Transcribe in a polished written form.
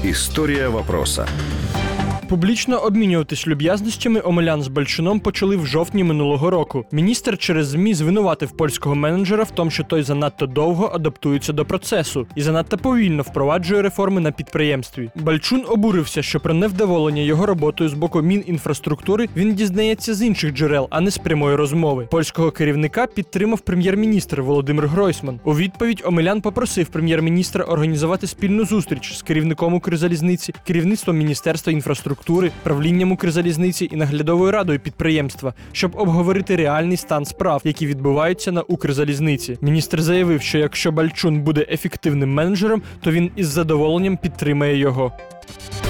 Історія вопроса. Публічно обмінюватись люб'язностями Омелян з Балчуном почали в жовтні минулого року. Міністр через ЗМІ звинуватив польського менеджера в тому, що той занадто довго адаптується до процесу і занадто повільно впроваджує реформи на підприємстві. Балчун обурився, що про невдоволення його роботою з боку Мінінфраструктури він дізнається з інших джерел, а не з прямої розмови. Польського керівника підтримав прем'єр-міністр Володимир Гройсман. У відповідь Омелян попросив прем'єр-міністра організувати спільну зустріч з керівником Укрзалізниці, керівництвом Міністерства інфраструктури, правлінням Укрзалізниці і наглядовою радою підприємства, щоб обговорити реальний стан справ, які відбуваються на Укрзалізниці. Міністр заявив, що якщо Балчун буде ефективним менеджером, то він із задоволенням підтримає його.